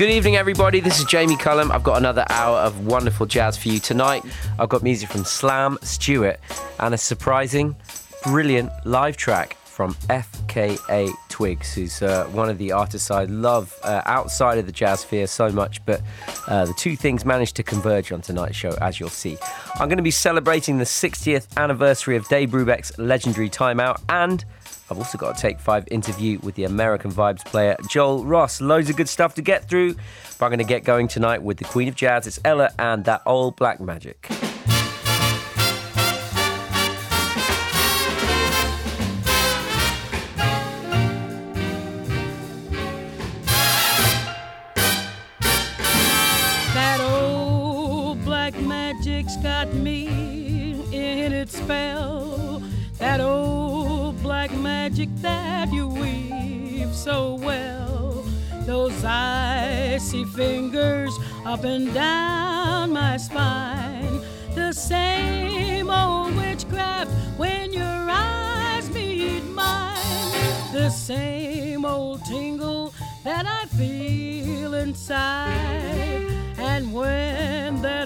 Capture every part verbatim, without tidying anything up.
Good evening, everybody. This is Jamie Cullum. I've got another hour of wonderful jazz for you tonight. I've got music from Slam Stewart and a surprising, brilliant live track from F K A Twigs, who's uh, one of the artists I love uh, outside of the jazz sphere so much, but uh, the two things managed to converge on tonight's show, as you'll see. I'm going to be celebrating the sixtieth anniversary of Dave Brubeck's legendary Time Out, and I've also got a Take Five interview with the American Vibes player Joel Ross. Loads of good stuff to get through, but I'm going to get going tonight with the Queen of Jazz. It's Ella and That Old Black Magic. That old black magic's got me in its spell. That old black magic that you weave so well. Those icy fingers up and down my spine. The same old witchcraft when your eyes meet mine. The same old tingle that I feel inside. And when that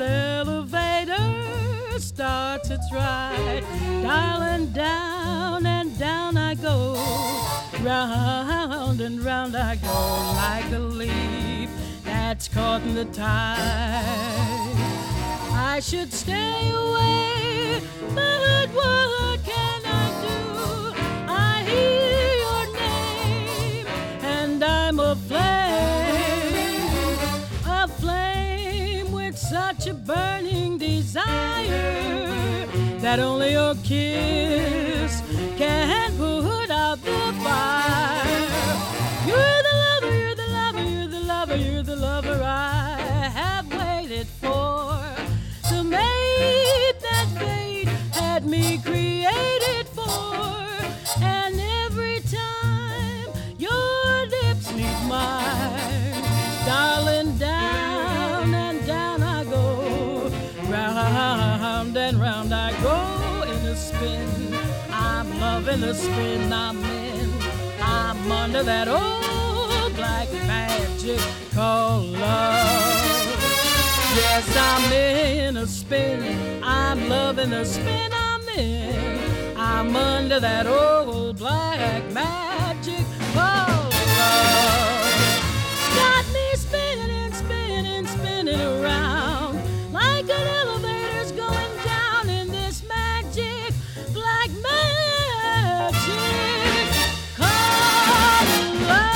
elevator starts its ride, darling, down and down I go, round and round I go, like a leaf that's caught in the tide. I should stay away, but what can I do? I hear your name and I'm aflame, aflame with such a burning desire that only your kiss can put out the fire. You're the lover, you're the lover, you're the lover, you're the lover I have waited for. The mate that fate had me created for. And every time your lips meet mine, darling, down and down I go, round and round I go in a spin. I'm loving the spin I'm in. I'm under that old black magic called love. Yes, I'm in a spin. I'm loving the spin I'm in. I'm under that old black magic called love. Got me spinning and spinning and spinning around like an elevator's going down in this magic black magic called love.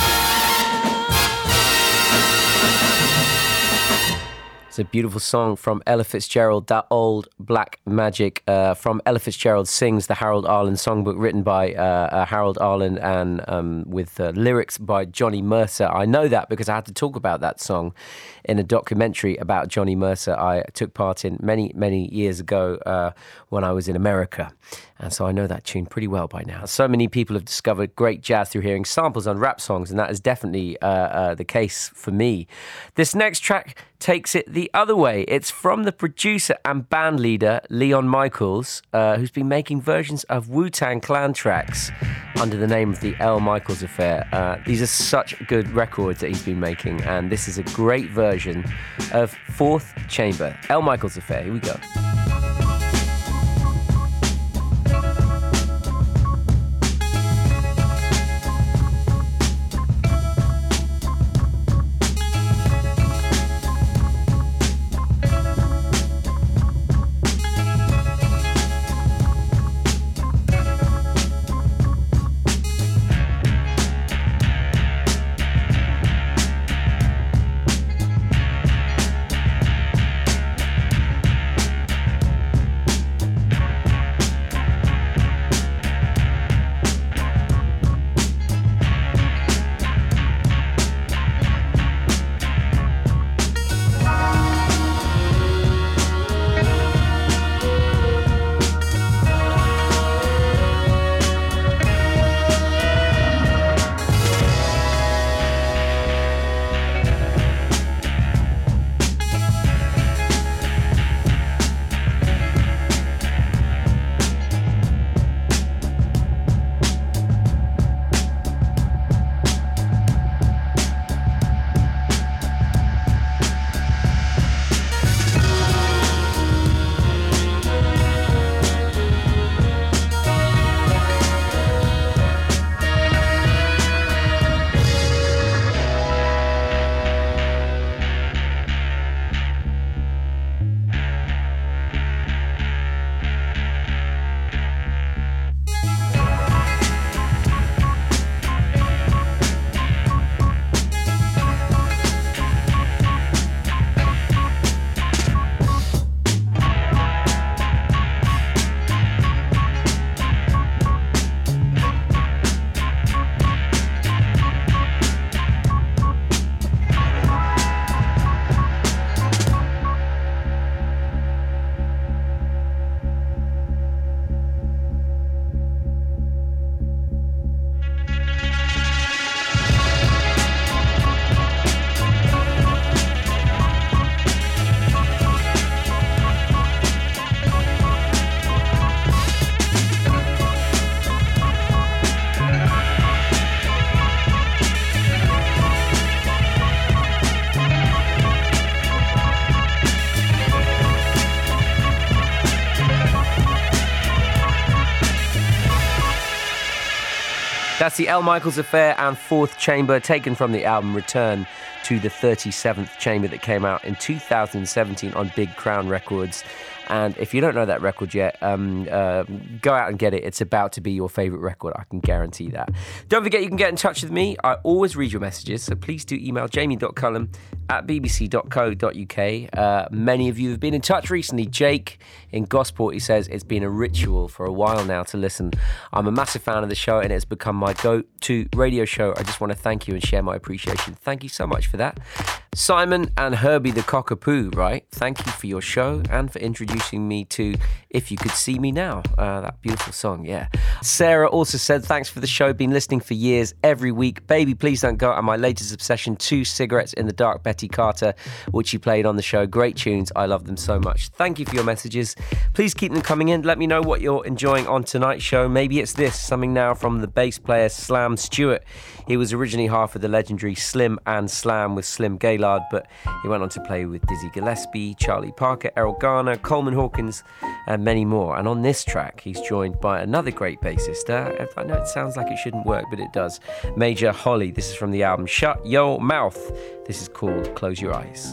It's a beautiful song from Ella Fitzgerald, That Old Black Magic, uh, from Ella Fitzgerald Sings, the Harold Arlen songbook, written by uh, uh, Harold Arlen and um, with uh, lyrics by Johnny Mercer. I know that because I had to talk about that song in a documentary about Johnny Mercer I took part in many, many years ago uh, when I was in America. And so I know that tune pretty well by now. So many people have discovered great jazz through hearing samples on rap songs, and that is definitely uh, uh, the case for me. This next track takes it the other way. It's from the producer and band leader Leon Michaels, uh, who's been making versions of Wu-Tang Clan tracks under the name of the L. Michaels Affair. Uh, these are such good records that he's been making, and this is a great version of Fourth Chamber. L. Michaels Affair, here we go. That's the L. Michaels Affair and Fourth Chamber, taken from the album Return to the thirty-seventh Chamber that came out in two thousand seventeen on Big Crown Records. And if you don't know that record yet, um, uh, go out and get it. It's about to be your favourite record, I can guarantee that. Don't forget you can get in touch with me. I always read your messages, so please do email jamie dot cullum at b b c dot co dot u k. Uh, many of you have been in touch recently. Jake in Gosport, he says, it's been a ritual for a while now to listen. I'm a massive fan of the show and it's become my go-to radio show. I just want to thank you and share my appreciation. Thank you so much for that. Simon and Herbie the Cockapoo, right? Thank you for your show and for introducing me to If You Could See Me Now. Uh, that beautiful song, yeah. Sarah also said, thanks for the show. Been listening for years, every week. Baby, Please Don't Go. And my latest obsession, Two Cigarettes in the Dark, Betty Carter, which you played on the show. Great tunes. I love them so much. Thank you for your messages. Please keep them coming in. Let me know what you're enjoying on tonight's show. Maybe it's this, something now from the bass player Slam Stewart. He was originally half of the legendary Slim and Slam with Slim Gaylord, but he went on to play with Dizzy Gillespie, Charlie Parker, Errol Garner, Coleman Hawkins, and many more. And on this track, he's joined by another great bassist. Uh, I know it sounds like it shouldn't work, but it does. Major Holly. This is from the album Shut Your Mouth. This is called Close Your Eyes.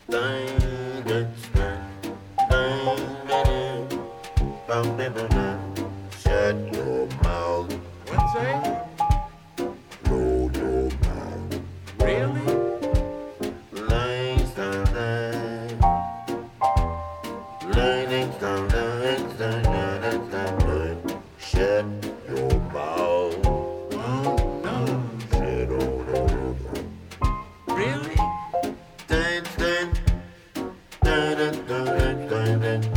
Shut your mouth. What's that? Close your mouth. Really? Lanes down there. Lanes down there. Shut your mouth. Oh, no. Shut your mouth. Really? Dun, dun, dun, dun, dun, dun, dun.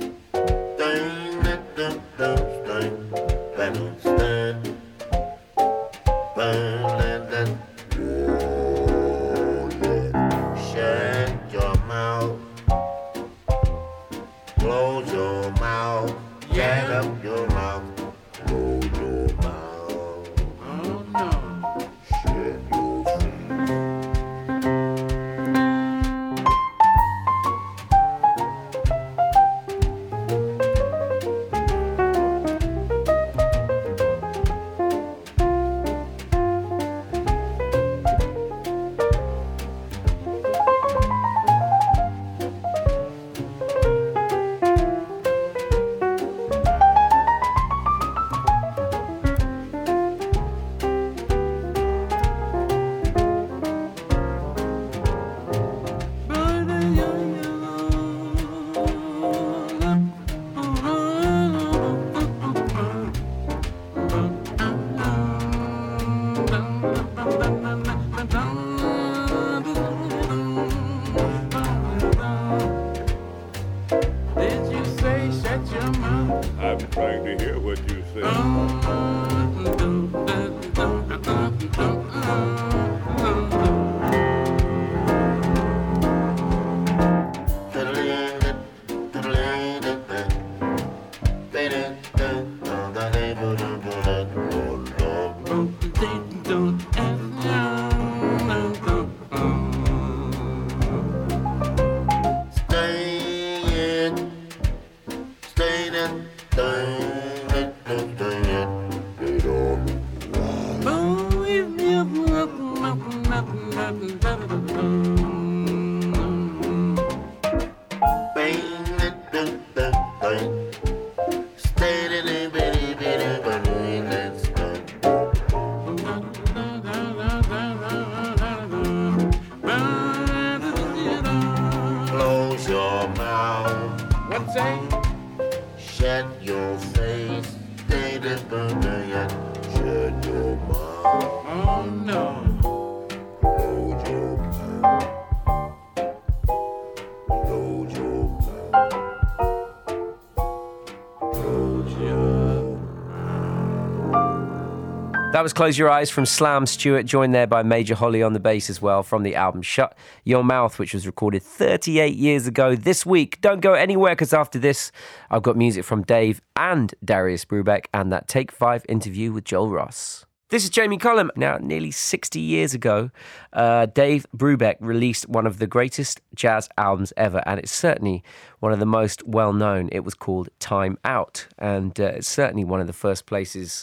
That was Close Your Eyes from Slam Stewart, joined there by Major Holly on the bass as well from the album Shut Your Mouth, which was recorded thirty-eight years ago this week. Don't go anywhere, because after this, I've got music from Dave and Darius Brubeck and that Take Five interview with Joel Ross. This is Jamie Cullum. Now, nearly sixty years ago, uh, Dave Brubeck released one of the greatest jazz albums ever, and it's certainly one of the most well-known. It was called Time Out, and uh, it's certainly one of the first places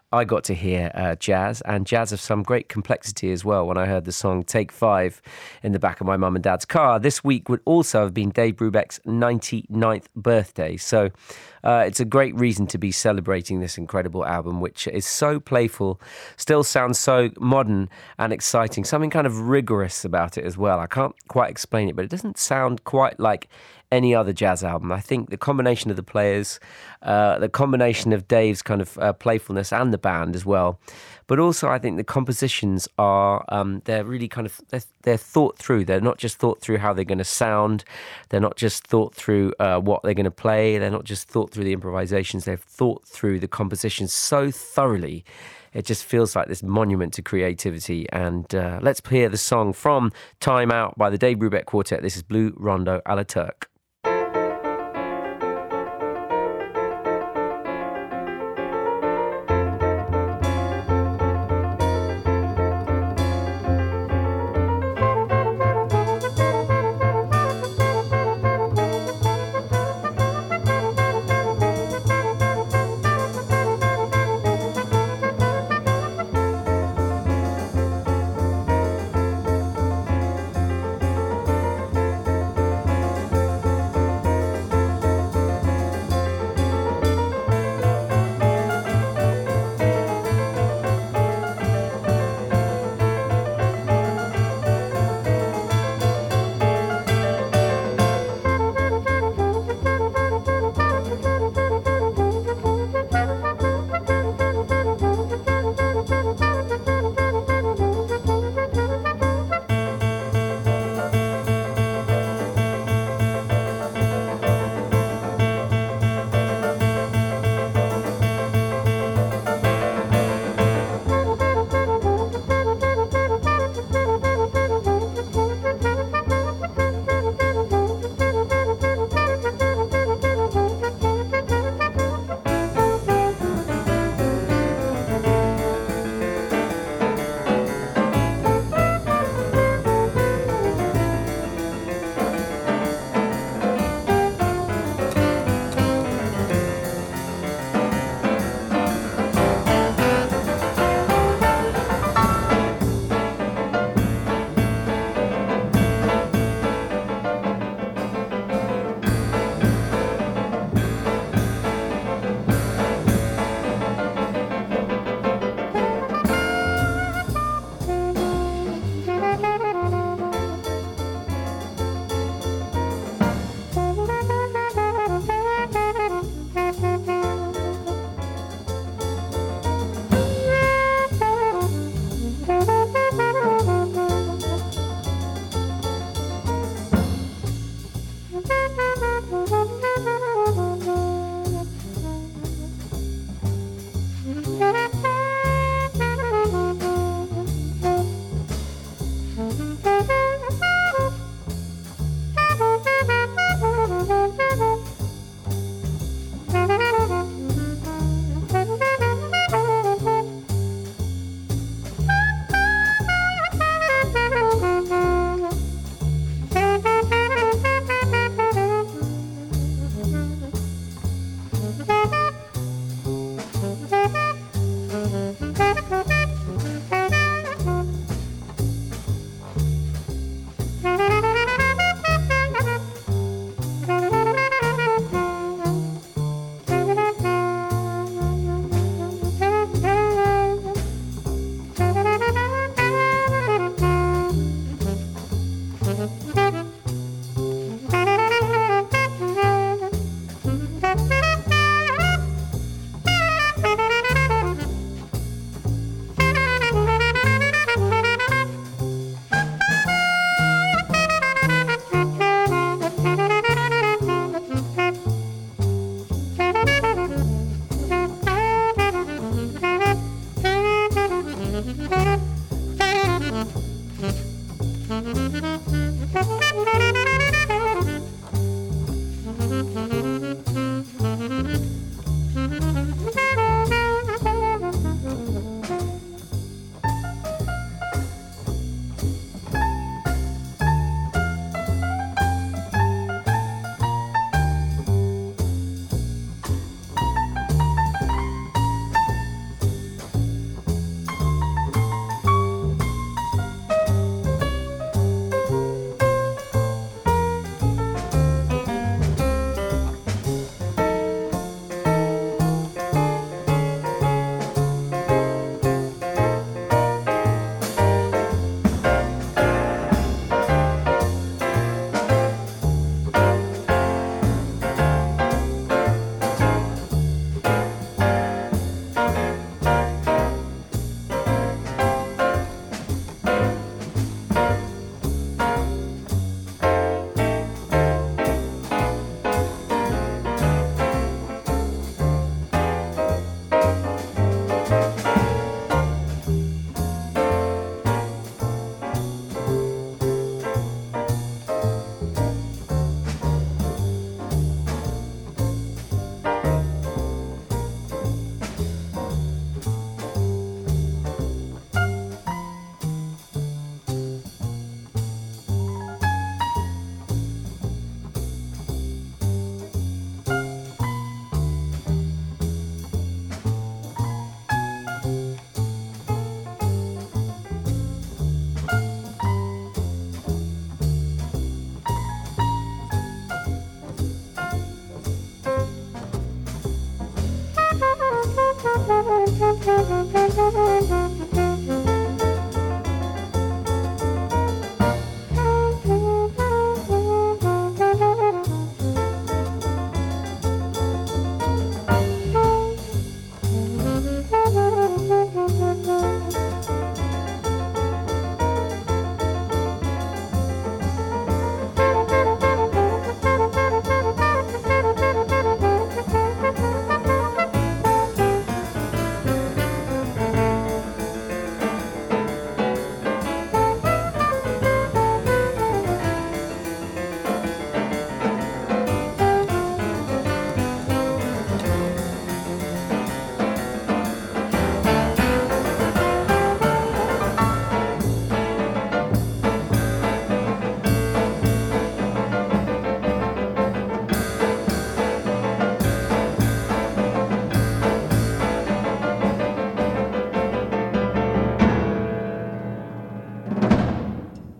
I got to hear uh, jazz, and jazz of some great complexity as well when I heard the song Take Five in the back of my mum and dad's car. This week would also have been Dave Brubeck's ninety-ninth birthday, so uh, it's a great reason to be celebrating this incredible album, which is so playful, still sounds so modern and exciting, something kind of rigorous about it as well. I can't quite explain it, but it doesn't sound quite like any other jazz album. I think the combination of the players, uh, the combination of Dave's kind of uh, playfulness and the band as well, but also I think the compositions are, um, they're really kind of, they're, they're thought through. They're not just thought through how they're going to sound. They're not just thought through uh, what they're going to play. They're not just thought through the improvisations. They've thought through the compositions so thoroughly. It just feels like this monument to creativity. And uh, let's hear the song from Time Out by the Dave Brubeck Quartet. This is Blue Rondo a la Turk.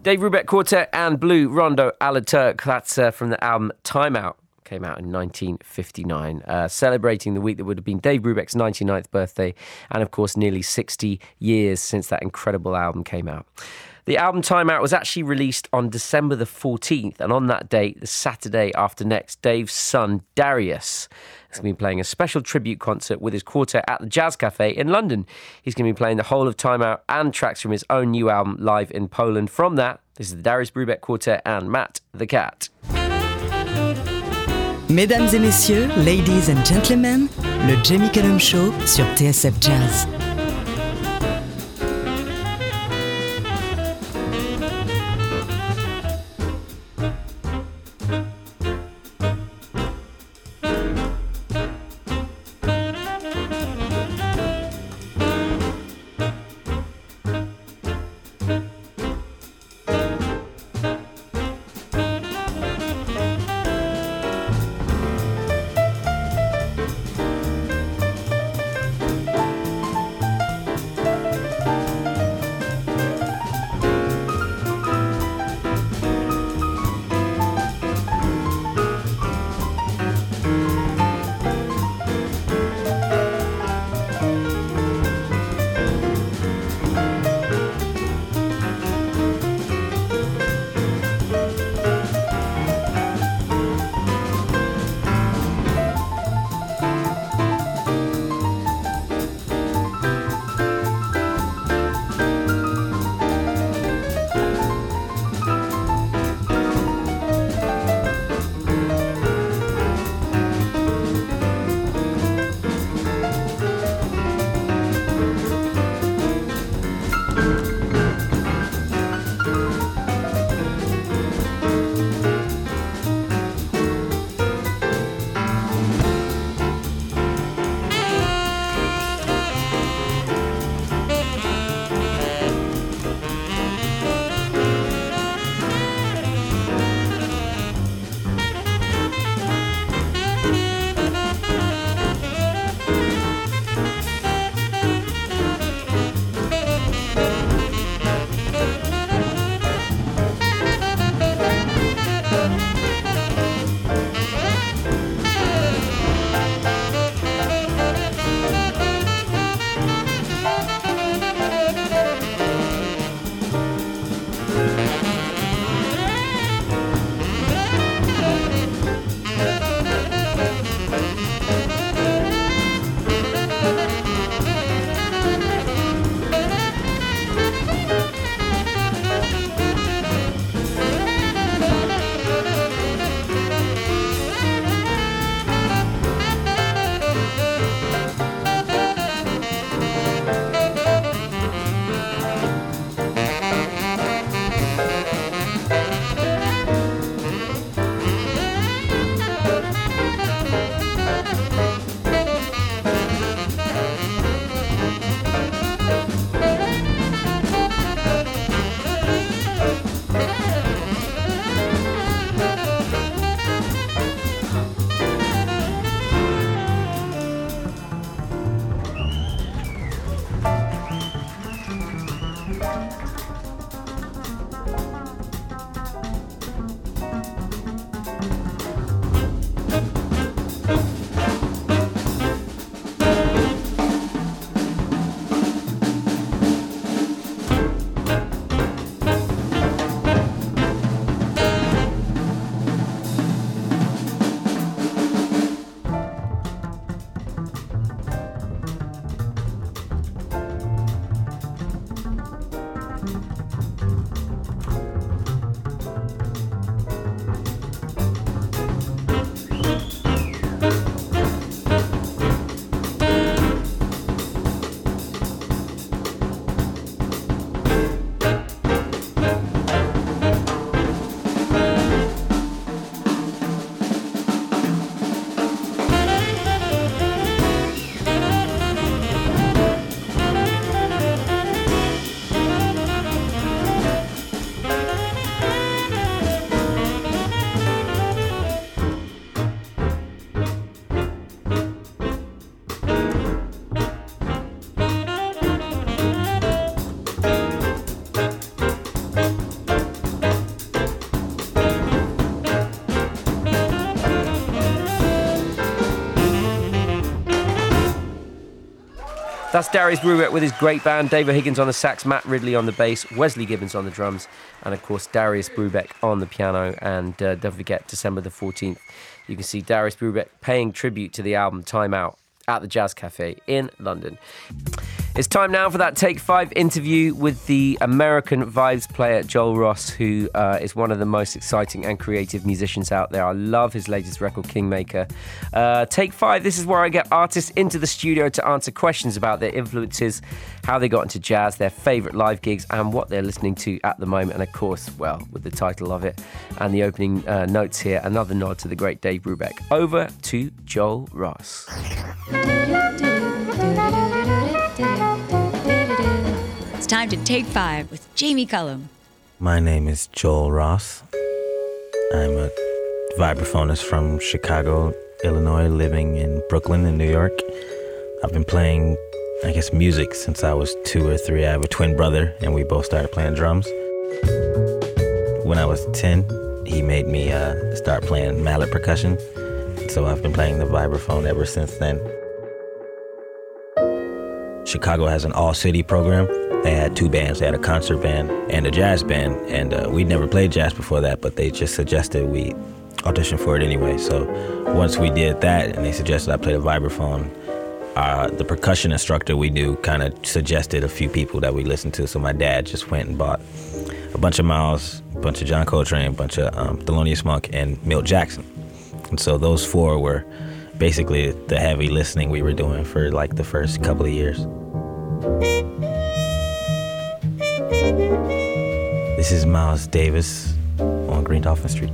Dave Brubeck Quartet and Blue Rondo a la Turk. That's uh, from the album Time Out. Came out in nineteen fifty-nine, uh, celebrating the week that would have been Dave Brubeck's ninety-ninth birthday, and of course nearly sixty years since that incredible album came out. The album Time Out was actually released on December the fourteenth, and on that date, the Saturday after next, Dave's son Darius is going to be playing a special tribute concert with his quartet at the Jazz Cafe in London. He's going to be playing the whole of Time Out and tracks from his own new album live in Poland. From that, this is the Darius Brubeck Quartet and Matt the Cat. Mesdames et messieurs, ladies and gentlemen, le Jamie Cullum Show sur T S F Jazz. That's Darius Brubeck with his great band, David Higgins on the sax, Matt Ridley on the bass, Wesley Gibbons on the drums, and of course Darius Brubeck on the piano. And uh, don't forget, December the fourteenth, you can see Darius Brubeck paying tribute to the album Time Out at the Jazz Cafe in London. It's time now for that Take Five interview with the American Vibes player Joel Ross, who uh, is one of the most exciting and creative musicians out there. I love his latest record, Kingmaker. Uh, Take Five, this is where I get artists into the studio to answer questions about their influences, how they got into jazz, their favourite live gigs, and what they're listening to at the moment. And of course, well, with the title of it and the opening uh, notes here, another nod to the great Dave Brubeck. Over to Joel Ross. It's time to Take Five with Jamie Cullum. My name is Joel Ross. I'm a vibraphonist from Chicago, Illinois, living in Brooklyn and New York. I've been playing, I guess, music since I was two or three. I have a twin brother, and we both started playing drums. When I was ten, he made me uh, start playing mallet percussion. So I've been playing the vibraphone ever since then. Chicago has an all-city program. They had two bands. They had a concert band and a jazz band, and uh, we'd never played jazz before that, but they just suggested we audition for it anyway. So once we did that, and they suggested I play the vibraphone, uh, the percussion instructor we knew kind of suggested a few people that we listened to. So my dad just went and bought a bunch of Miles, a bunch of John Coltrane, a bunch of um, Thelonious Monk, and Milt Jackson. And so those four were basically the heavy listening we were doing for like the first couple of years. This is Miles Davis on Green Dolphin Street.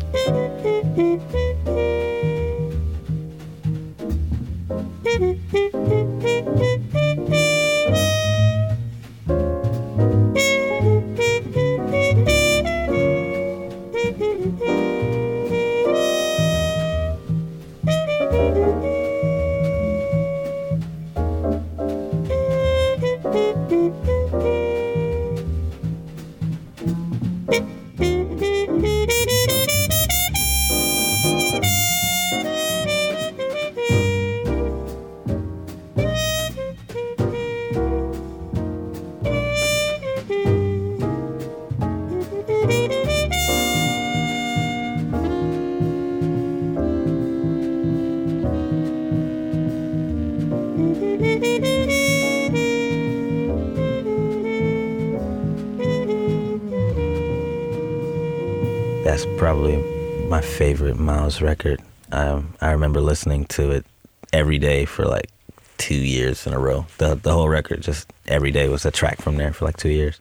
That's probably my favorite Miles record. Um, I remember listening to it every day for like two years in a row. The the whole record, just every day was a track from there for like two years.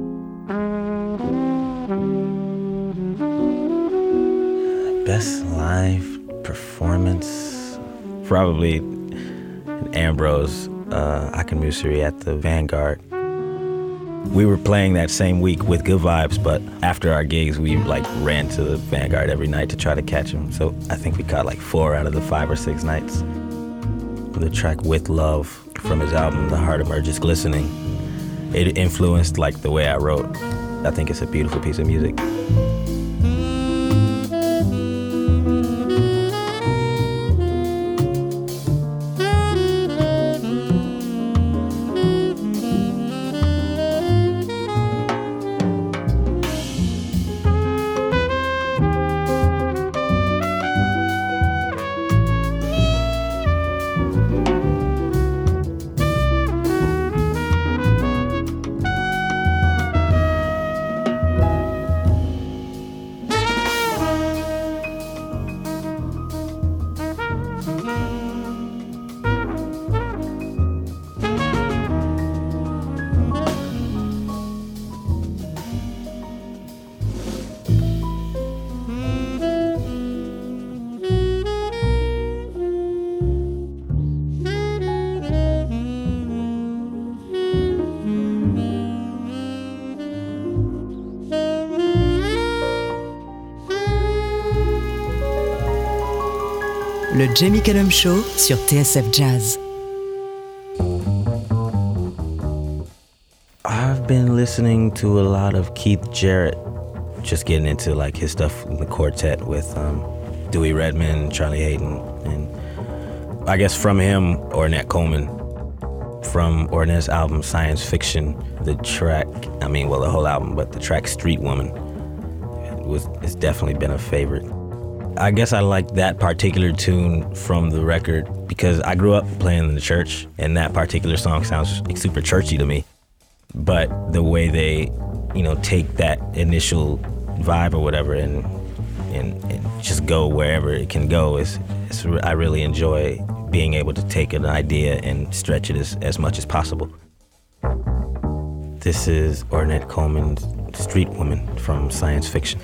Best live performance? Probably in Ambrose, uh, Akamusiri at the Vanguard. We were playing that same week with Good Vibes, but after our gigs, we like ran to the Vanguard every night to try to catch him. So I think we caught like four out of the five or six nights. The track With Love from his album, The Heart Emerges Glistening, it influenced like the way I wrote. I think it's a beautiful piece of music. Le Jamie Cullum Show sur T S F Jazz. I've been listening to a lot of Keith Jarrett, just getting into like his stuff in the quartet with um, Dewey Redman, Charlie Hayden, and I guess from him, Ornette Coleman. from Ornette's album Science Fiction, the track, I mean, well, the whole album, but the track Street Woman was it's definitely been a favorite. I guess I like that particular tune from the record because I grew up playing in the church, and that particular song sounds super churchy to me. But the way they, you know, take that initial vibe or whatever and and, and just go wherever it can go is, is I really enjoy being able to take an idea and stretch it as, as much as possible. This is Ornette Coleman's Street Woman from Science Fiction.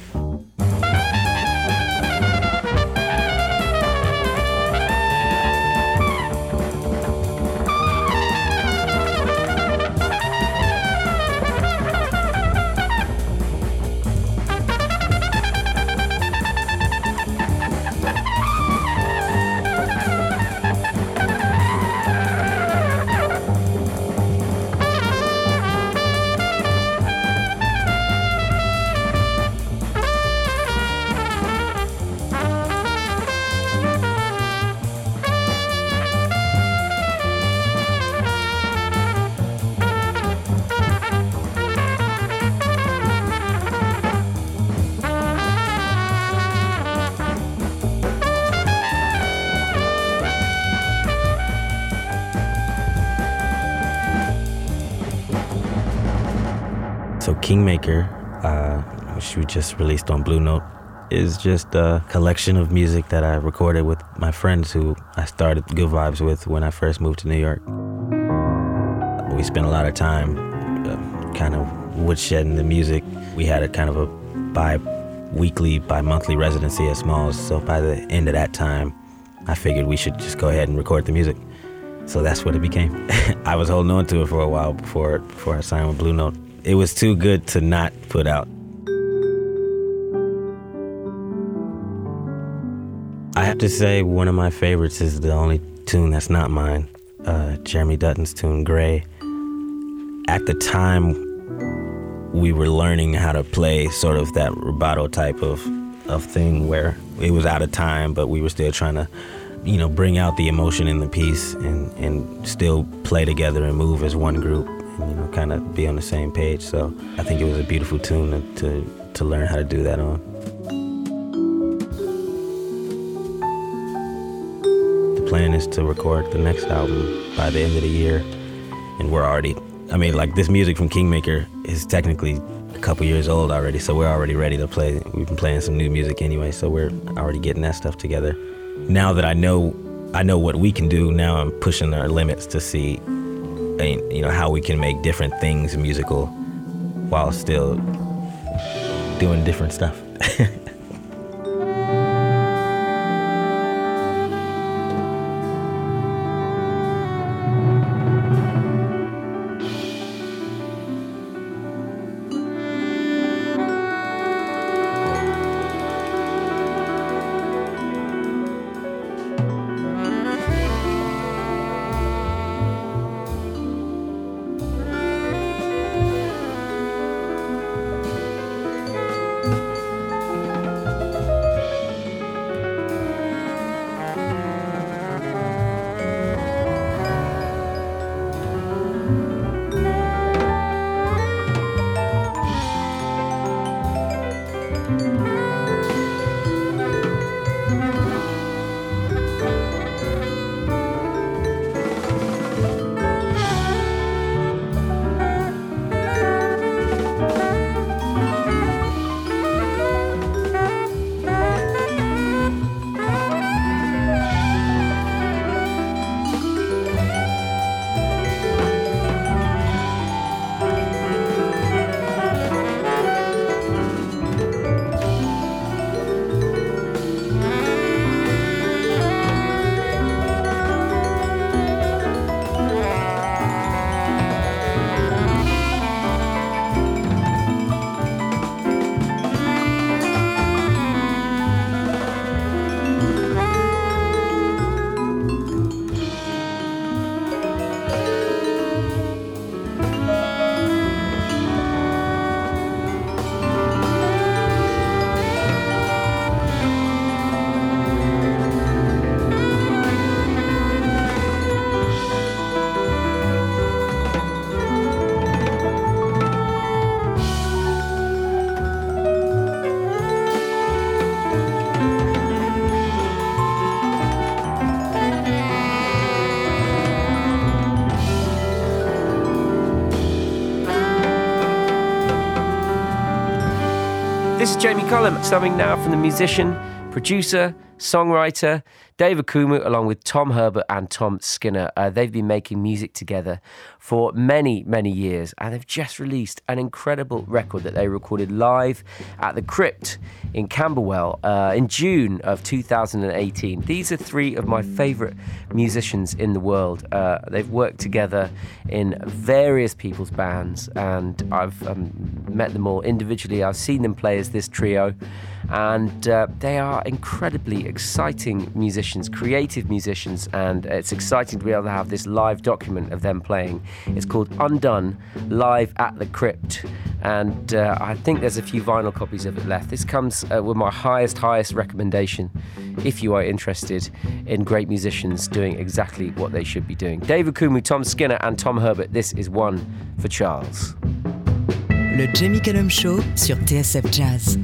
So Kingmaker, uh, which we just released on Blue Note, is just a collection of music that I recorded with my friends who I started Good Vibes with when I first moved to New York. We spent a lot of time uh, kind of woodshedding the music. We had a kind of a bi-weekly, bi-monthly residency at Smalls, so by the end of that time, I figured we should just go ahead and record the music. So that's what it became. I was holding on to it for a while before, before I signed with Blue Note. It was too good to not put out. I have to say one of my favorites is the only tune that's not mine, uh, Jeremy Dutton's tune, Gray. At the time, we were learning how to play sort of that rubato type of, of thing where it was out of time, but we were still trying to, you know, bring out the emotion in the piece and, and still play together and move as one group. You know, kind of be on the same page. So I think it was a beautiful tune to, to, to learn how to do that on. The plan is to record the next album by the end of the year. And we're already, I mean, like this music from Kingmaker is technically a couple years old already, so we're already ready to play. We've been playing some new music anyway, so we're already getting that stuff together. Now that I know, I know what we can do, now I'm pushing our limits to see you know, how we can make different things musical while still doing different stuff. this is Jamie Cullum, subbing now from the musician, producer, songwriter David Kumu, along with Tom Herbert and Tom Skinner. Uh, they've been making music together for many, many years, and they've just released an incredible record that they recorded live at the Crypt in Camberwell uh, in June of two thousand eighteen. These are three of my favourite musicians in the world. Uh, they've worked together in various people's bands, and I've um, met them all individually. I've seen them play as this trio, and uh, they are incredibly exciting musicians, creative musicians, and it's exciting to be able to have this live document of them playing. It's called Undone, live at the Crypt, and uh, I think there's a few vinyl copies of it left. This comes uh, with my highest, highest recommendation if you are interested in great musicians doing exactly what they should be doing. David Kumu, Tom Skinner and Tom Herbert, this is One for Charles. Le Jamie Cullum Show sur T S F Jazz.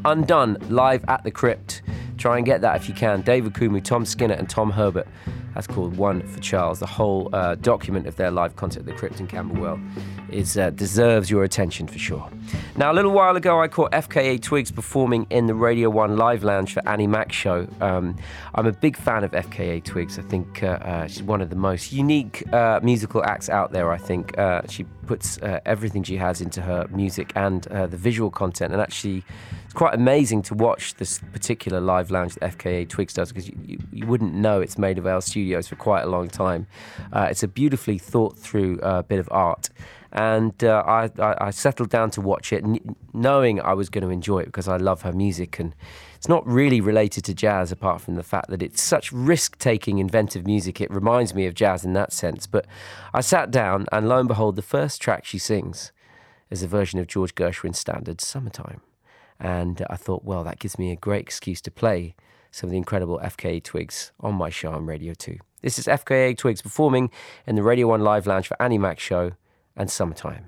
Undone, live at the Crypt. Try and get that if you can. David Kumu, Tom Skinner and Tom Herbert. That's called One for Charles. The whole uh, document of their live concert at the Crypt in Camberwell is uh, deserves your attention for sure. Now, a little while ago, I caught F K A Twigs performing in the Radio one Live Lounge for Annie Mac's show. Um, I'm a big fan of F K A Twigs. I think uh, uh, she's one of the most unique uh, musical acts out there, I think. Uh, she puts uh, everything she has into her music and uh, the visual content, and actually it's quite amazing to watch this particular live lounge that F K A Twigs does, because you, you, you wouldn't know it's made of our studios for quite a long time. Uh, it's a beautifully thought through uh, bit of art. And uh, I, I, I settled down to watch it, n- knowing I was going to enjoy it because I love her music. And it's not really related to jazz, apart from the fact that it's such risk-taking, inventive music. It reminds me of jazz in that sense. But I sat down, and lo and behold, the first track she sings is a version of George Gershwin's standard, Summertime. And I thought, well, that gives me a great excuse to play some of the incredible F K A Twigs on my show on Radio two. This is F K A Twigs performing in the Radio one Live Lounge for Annie Mac's show and Summertime.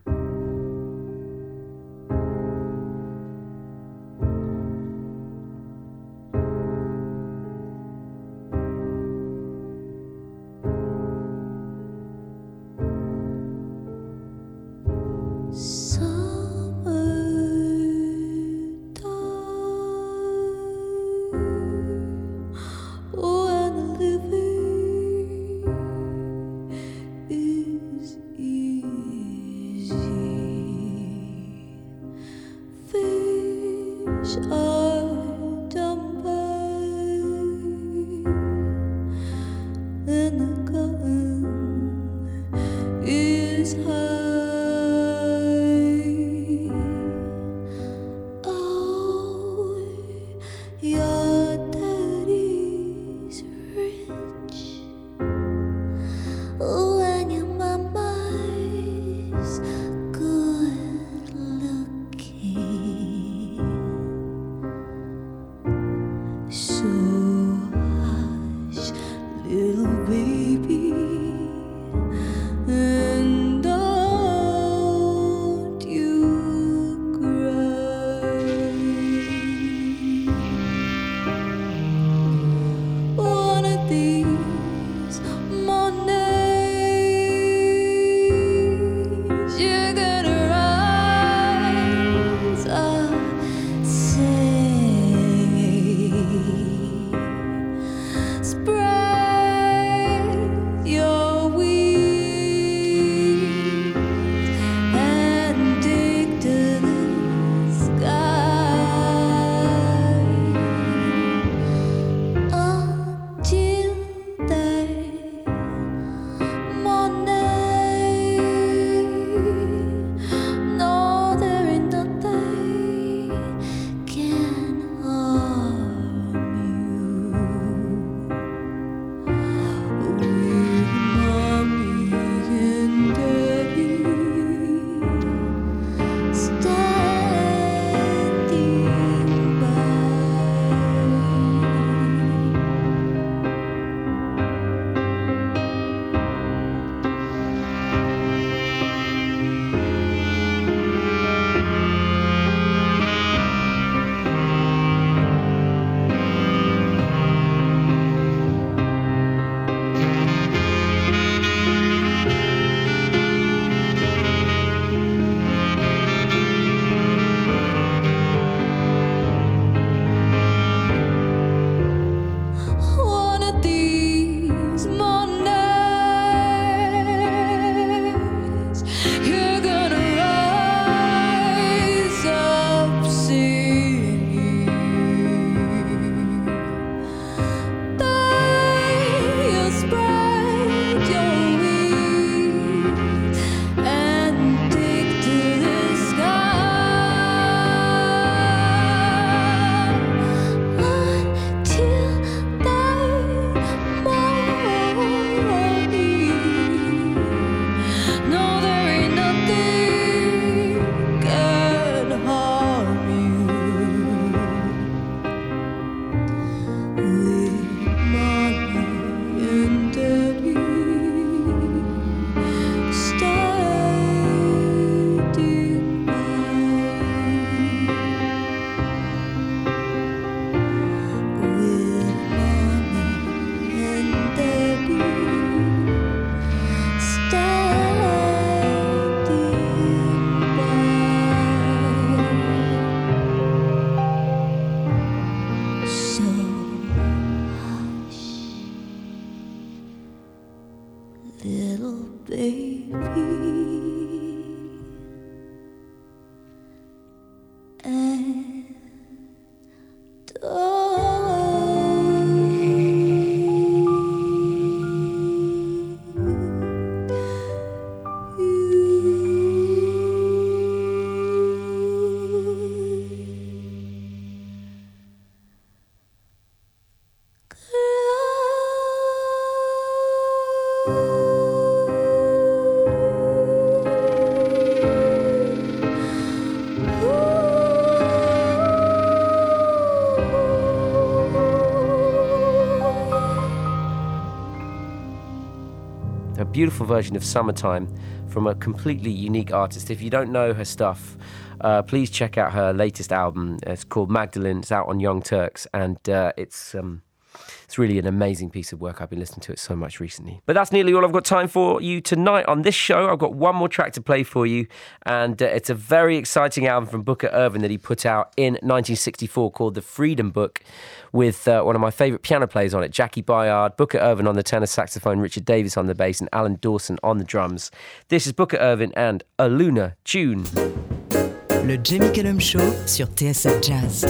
Spray little baby. And beautiful version of Summertime from a completely unique artist. If you don't know her stuff, uh, please check out her latest album. It's called Magdalene. It's out on Young Turks, and uh, it's um, it's really an amazing piece of work. I've been listening to it so much recently. But that's nearly all I've got time for you tonight on this show. I've got one more track to play for you, and uh, it's a very exciting album from Booker Ervin that he put out in nineteen sixty-four called The Freedom Book, with uh, one of my favourite piano players on it, Jackie Bayard, Booker Ervin on the tenor saxophone, Richard Davis on the bass, and Alan Dawson on the drums. This is Booker Ervin and A Lunar Tune. Le Jamie Cullum Show sur T S F Jazz.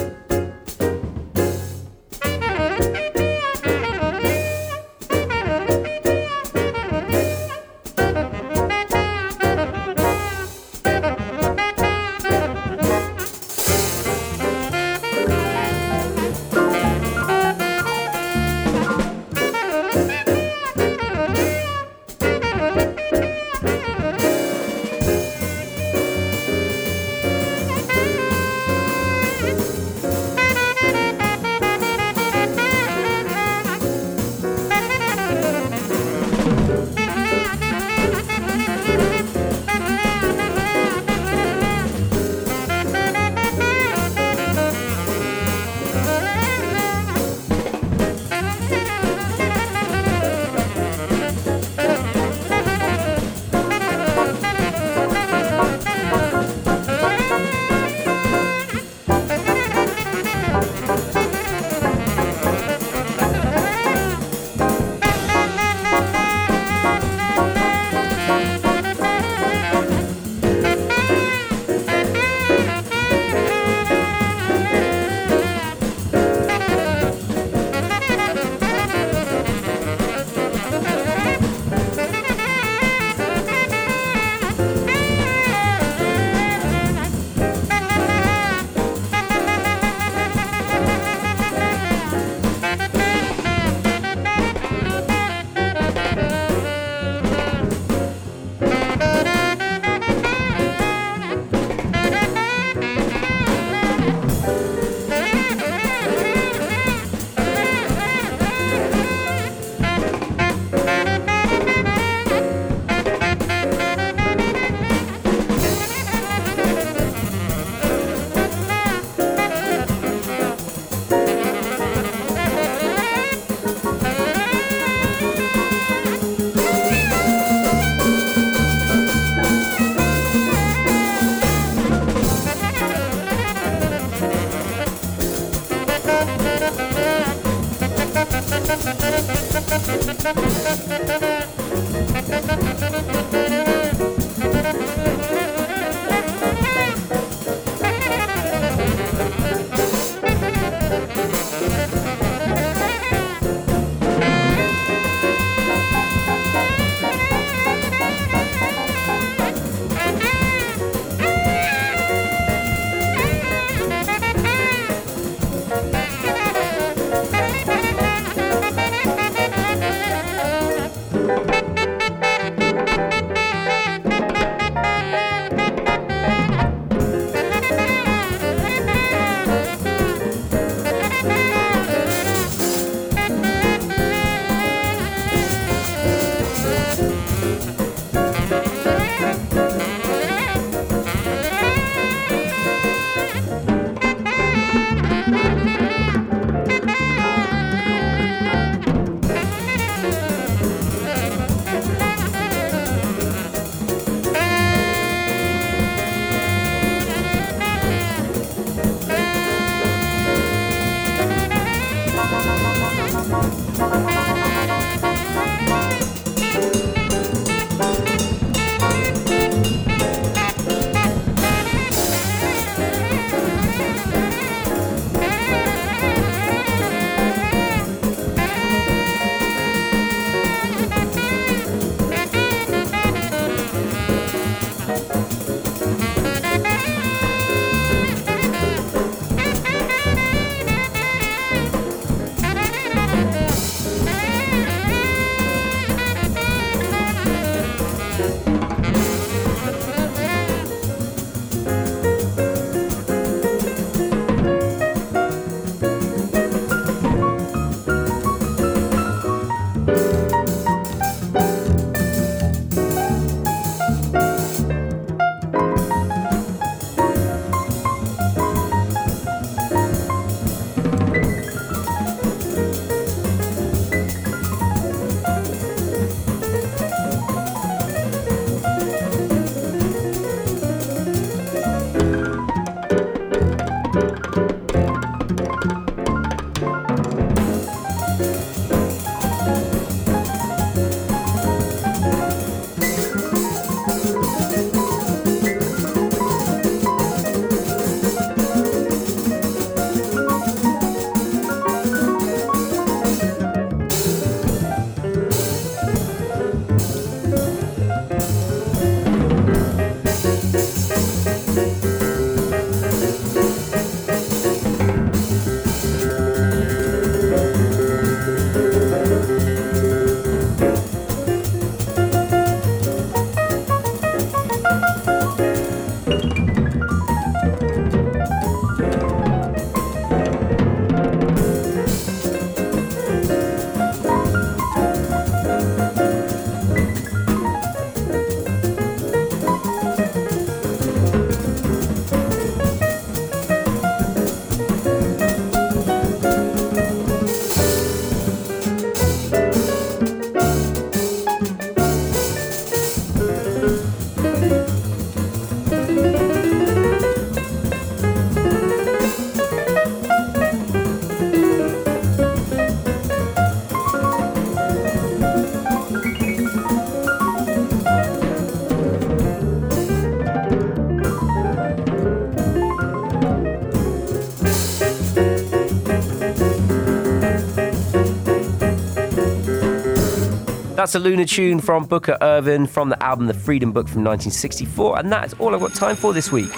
That's a Lunar tune from Booker Irvin from the album The Freedom Book from nineteen sixty-four, and that is all I've got time for this week.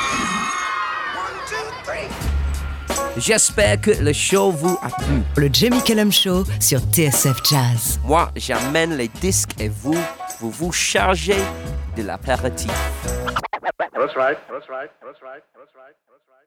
J'espère que le show vous a plu. Le Jamie Cullum Show sur T S F Jazz. Moi, j'amène les disques et vous, vous vous chargez de l'apéritif. That's right. That's right. That's right. That's right. That's right.